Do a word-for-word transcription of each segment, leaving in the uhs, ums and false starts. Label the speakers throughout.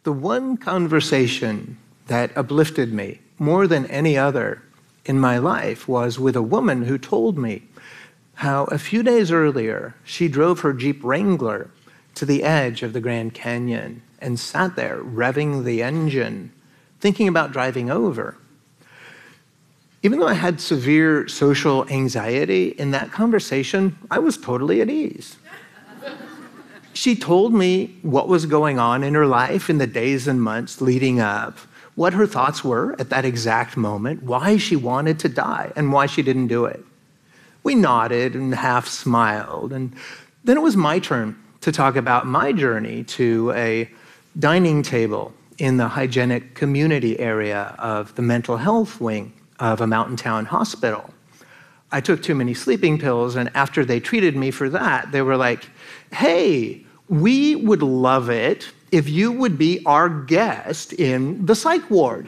Speaker 1: The one conversation that uplifted me more than any other in my life was with a woman who told me how a few days earlier she drove her Jeep Wrangler to the edge of the Grand Canyon and sat there revving the engine, thinking about driving over. Even though I had severe social anxiety, in that conversation, I was totally at ease. She told me what was going on in her life in the days and months leading up, what her thoughts were at that exact moment, why she wanted to die, and why she didn't do it. We nodded and half smiled, and then it was my turn to talk about my journey to a dining table in the hygienic community area of the mental health wing of a mountain town hospital. I took too many sleeping pills, and after they treated me for that, they were like, hey, we would love it if you would be our guest in the psych ward.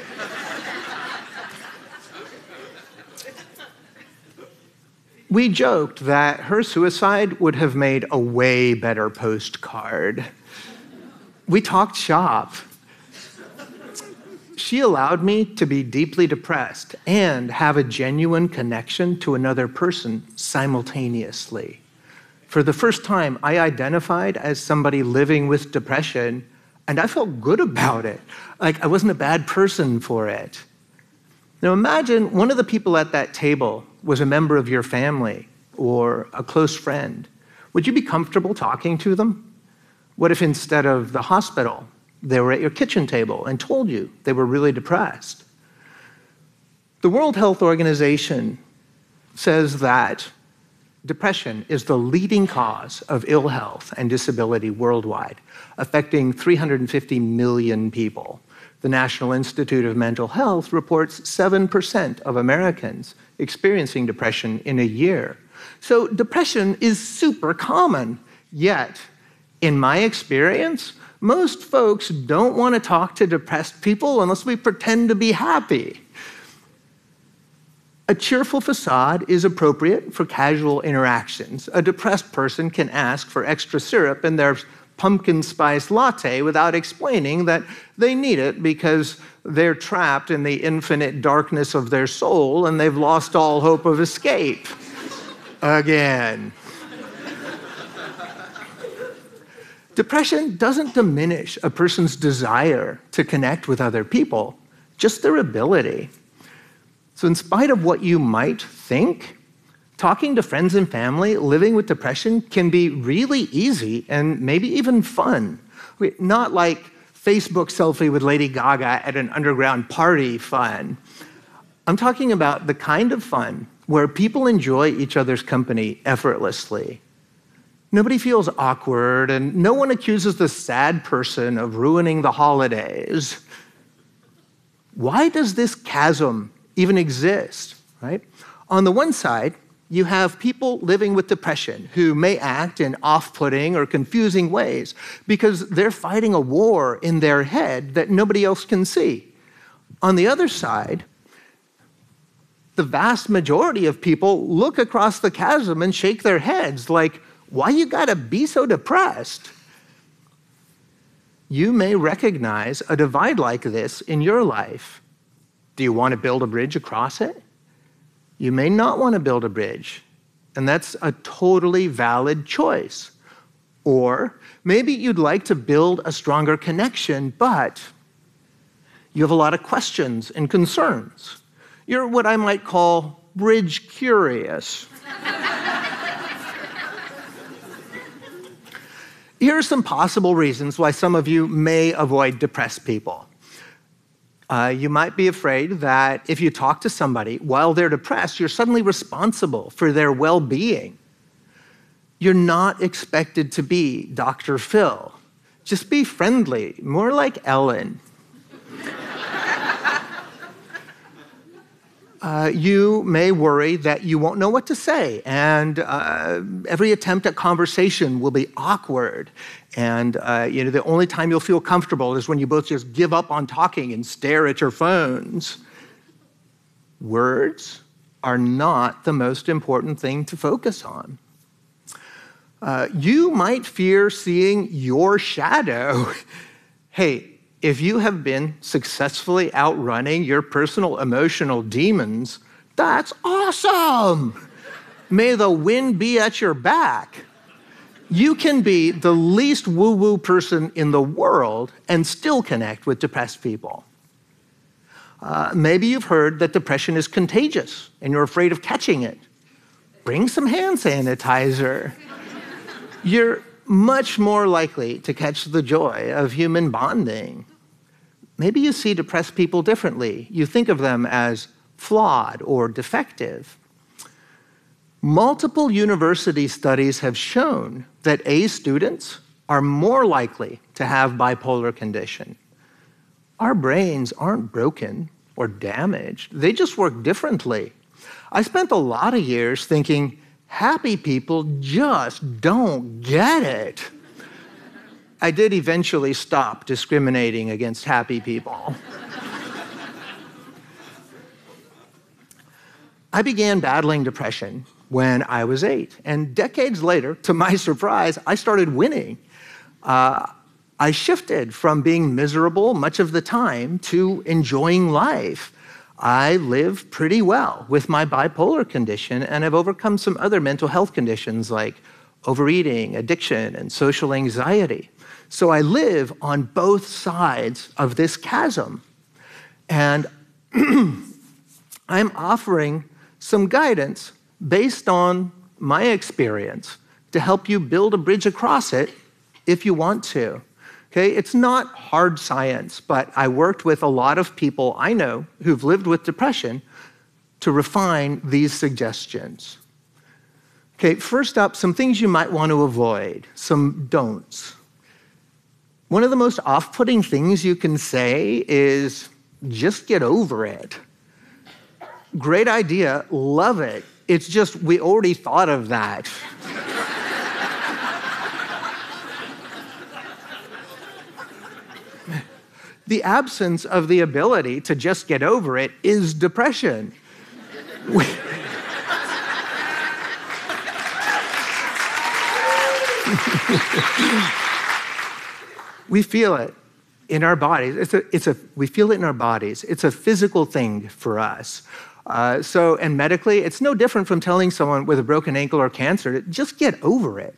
Speaker 1: We joked that her suicide would have made a way better postcard. We talked shop. She allowed me to be deeply depressed and have a genuine connection to another person simultaneously. For the first time, I identified as somebody living with depression, and I felt good about it. Like I wasn't a bad person for it. Now imagine one of the people at that table was a member of your family or a close friend. Would you be comfortable talking to them? What if instead of the hospital, they were at your kitchen table and told you they were really depressed? The World Health Organization says that depression is the leading cause of ill health and disability worldwide, affecting three hundred fifty million people. The National Institute of Mental Health reports seven percent of Americans experiencing depression in a year. So depression is super common, yet in my experience, most folks don't want to talk to depressed people unless we pretend to be happy. A cheerful facade is appropriate for casual interactions. A depressed person can ask for extra syrup in their pumpkin spice latte without explaining that they need it because they're trapped in the infinite darkness of their soul and they've lost all hope of escape. Again. Depression doesn't diminish a person's desire to connect with other people, just their ability. So in spite of what you might think, talking to friends and family living with depression can be really easy and maybe even fun. Not like Facebook selfie with Lady Gaga at an underground party fun. I'm talking about the kind of fun where people enjoy each other's company effortlessly. Nobody feels awkward, and no one accuses the sad person of ruining the holidays. Why does this chasm even exist, right? On the one side, you have people living with depression who may act in off-putting or confusing ways because they're fighting a war in their head that nobody else can see. On the other side, the vast majority of people look across the chasm and shake their heads like, why you gotta be so depressed? You may recognize a divide like this in your life. Do you want to build a bridge across it? You may not want to build a bridge, and that's a totally valid choice. Or maybe you'd like to build a stronger connection, but you have a lot of questions and concerns. You're what I might call bridge curious. Here are some possible reasons why some of you may avoid depressed people. Uh, you might be afraid that if you talk to somebody while they're depressed, you're suddenly responsible for their well-being. You're not expected to be Doctor Phil. Just be friendly, more like Ellen. Uh, you may worry that you won't know what to say, and uh, every attempt at conversation will be awkward. And uh, you know, the only time you'll feel comfortable is when you both just give up on talking and stare at your phones. Words are not the most important thing to focus on. Uh, you might fear seeing your shadow. Hey, if you have been successfully outrunning your personal emotional demons, that's awesome. May the wind be at your back. You can be the least woo-woo person in the world and still connect with depressed people. Uh, maybe you've heard that depression is contagious and you're afraid of catching it. Bring some hand sanitizer. You're much more likely to catch the joy of human bonding. Maybe you see depressed people differently. You think of them as flawed or defective. Multiple university studies have shown that A students are more likely to have bipolar condition. Our brains aren't broken or damaged. They just work differently. I spent a lot of years thinking, happy people just don't get it. I did eventually stop discriminating against happy people. I began battling depression when I was eight, and decades later, to my surprise, I started winning. Uh, I shifted from being miserable much of the time to enjoying life. I live pretty well with my bipolar condition, and I've overcome some other mental health conditions like overeating, addiction, and social anxiety. So I live on both sides of this chasm. And I'm offering some guidance based on my experience to help you build a bridge across it if you want to. Okay, it's not hard science, but I worked with a lot of people I know who've lived with depression to refine these suggestions. Okay, first up, some things you might want to avoid, some don'ts. One of the most off-putting things you can say is, just get over it. Great idea, love it. It's just, we already thought of that. The absence of the ability to just get over it is depression. We, we feel it in our bodies. It's a, it's a, we feel it in our bodies. It's a physical thing for us. Uh, so, and medically, it's no different from telling someone with a broken ankle or cancer to just get over it.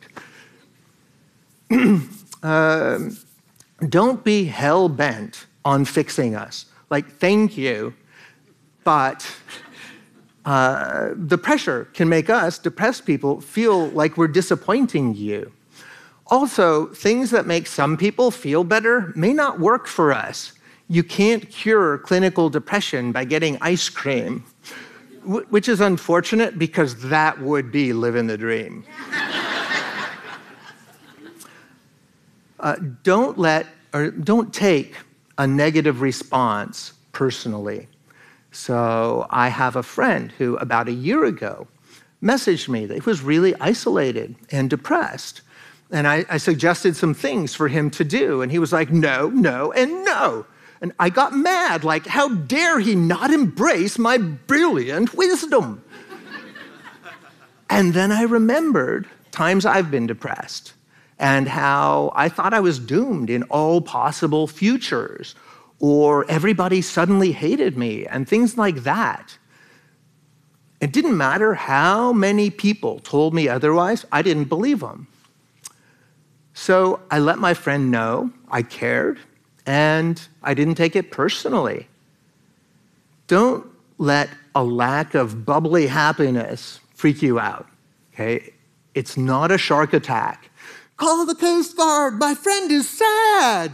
Speaker 1: um, Don't be hell-bent on fixing us. Like, thank you, but uh, the pressure can make us, depressed people, feel like we're disappointing you. Also, things that make some people feel better may not work for us. You can't cure clinical depression by getting ice cream, which is unfortunate because that would be living the dream. uh, don't let or don't take a negative response personally. So I have a friend who about a year ago messaged me that he was really isolated and depressed. And I, I suggested some things for him to do. And he was like, no, no, and no. And I got mad, like, how dare he not embrace my brilliant wisdom? And then I remembered times I've been depressed and how I thought I was doomed in all possible futures, or everybody suddenly hated me, and things like that. It didn't matter how many people told me otherwise, I didn't believe them. So I let my friend know I cared, and I didn't take it personally. Don't let a lack of bubbly happiness freak you out, okay? It's not a shark attack. Call the Coast Guard, my friend is sad.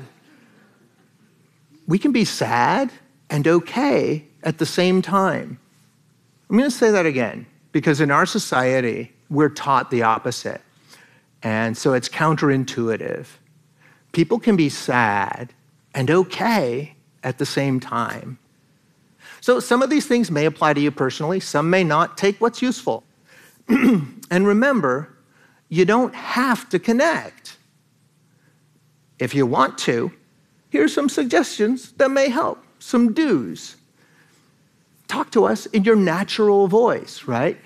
Speaker 1: We can be sad and okay at the same time. I'm gonna say that again, because in our society, we're taught the opposite. And so it's counterintuitive. People can be sad and okay at the same time. So some of these things may apply to you personally, some may not. Take what's useful. And remember, you don't have to connect. If you want to, here's some suggestions that may help, some do's. Talk to us in your natural voice, right?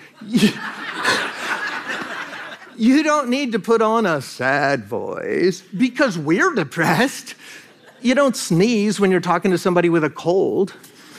Speaker 1: You don't need to put on a sad voice because we're depressed. You don't sneeze when you're talking to somebody with a cold.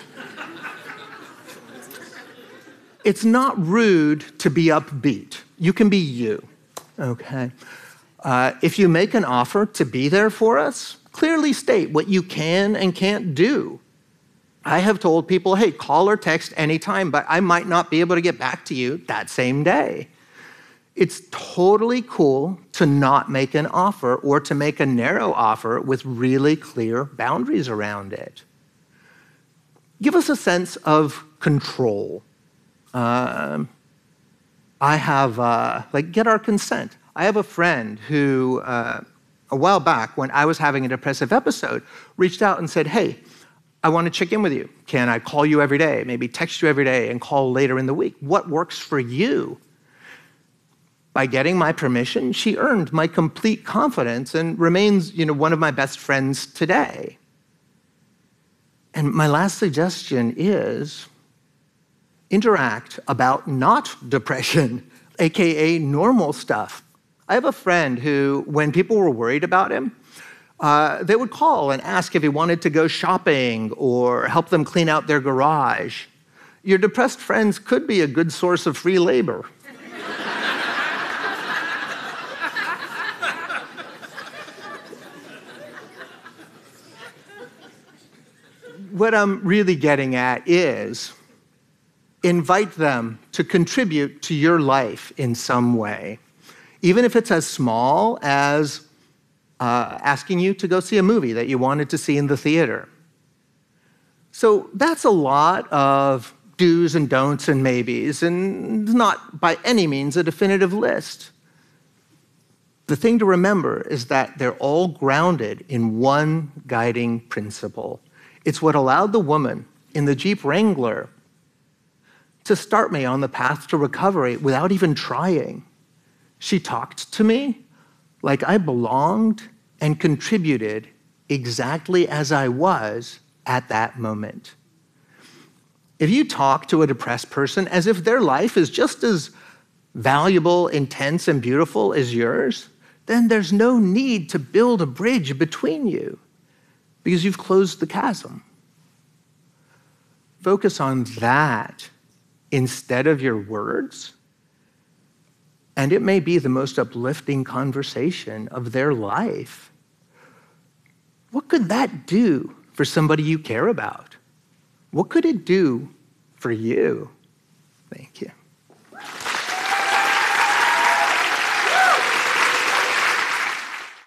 Speaker 1: It's not rude to be upbeat. You can be you, okay? Uh, if you make an offer to be there for us, clearly state what you can and can't do. I have told people, hey, call or text anytime, but I might not be able to get back to you that same day. It's totally cool to not make an offer or to make a narrow offer with really clear boundaries around it. Give us a sense of control. Um, I have, uh, like, get our consent. I have a friend who, uh, a while back, when I was having a depressive episode, reached out and said, hey, I want to check in with you. Can I call you every day, maybe text you every day and call later in the week? What works for you? By getting my permission, she earned my complete confidence and remains, you know, one of my best friends today. And my last suggestion is interact about not depression, A K A normal stuff. I have a friend who, when people were worried about him, uh, they would call and ask if he wanted to go shopping or help them clean out their garage. Your depressed friends could be a good source of free labor. What I'm really getting at is invite them to contribute to your life in some way, even if it's as small as uh, asking you to go see a movie that you wanted to see in the theater. So that's a lot of do's and don'ts and maybes, and not by any means a definitive list. The thing to remember is that they're all grounded in one guiding principle. It's what allowed the woman in the Jeep Wrangler to start me on the path to recovery without even trying. She talked to me like I belonged and contributed exactly as I was at that moment. If you talk to a depressed person as if their life is just as valuable, intense, and beautiful as yours, then there's no need to build a bridge between you because you've closed the chasm. Focus on that instead of your words, and it may be the most uplifting conversation of their life. What could that do for somebody you care about? What could it do for you? Thank you.